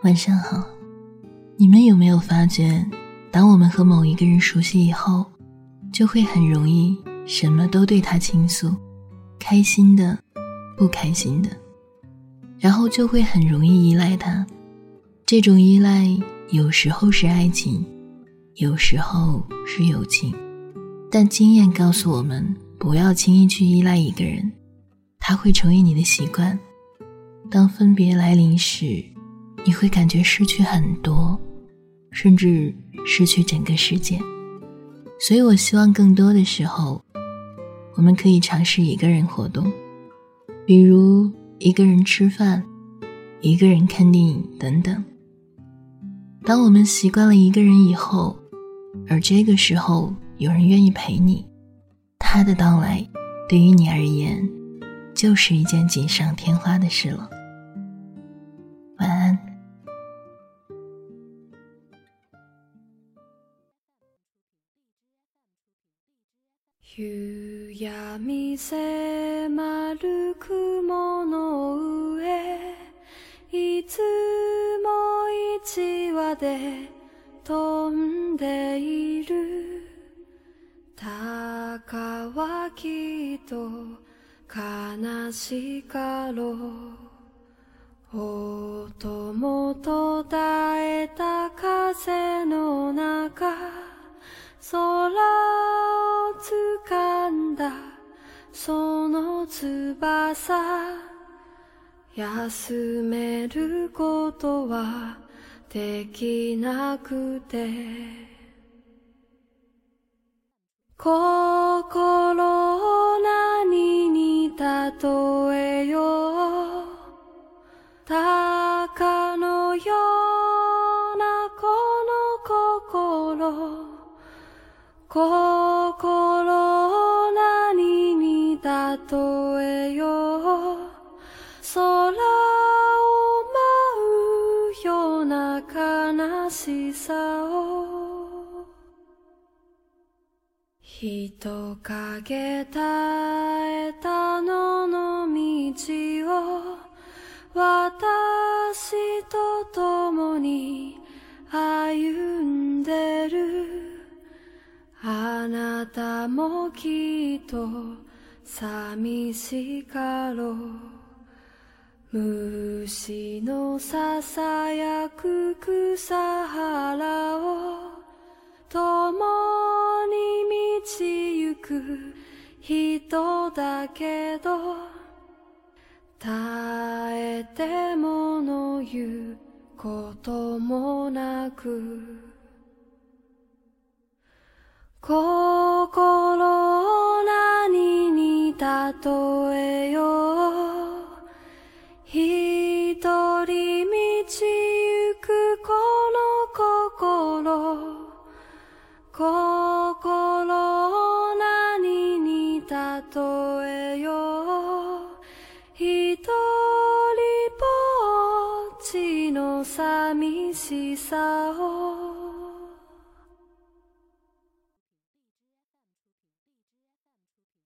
晚上好。你们有没有发觉，当我们和某一个人熟悉以后，就会很容易什么都对他倾诉，开心的，不开心的，然后就会很容易依赖他。这种依赖有时候是爱情，有时候是友情，但经验告诉我们，不要轻易去依赖一个人，他会成为你的习惯。当分别来临时，你会感觉失去很多，甚至失去整个世界。所以我希望更多的时候，我们可以尝试一个人活动，比如一个人吃饭，一个人看电影等等。当我们习惯了一个人以后，而这个时候有人愿意陪你，他的到来对于你而言就是一件锦上添花的事了。晚安。 夕闇迫る雲の上、いつも一羽で飛んでいる。鷹はきっと悲しかろう。音も途絶えた風の中、空を掴んだその翼、休めることはできなくて、心を何に例えよう。鷹のようなこの心を何に例えよう。空を舞うような悲しさを、人影絶えた野の道を私と共に歩んでる。あなたもきっと寂しかろう。虫のささやく草原を共に道行く人だけど、耐えてもの言うこともなく、心を何に例えよう。一人道行くこの心を何に例えよう。一人ぼっちの寂しさを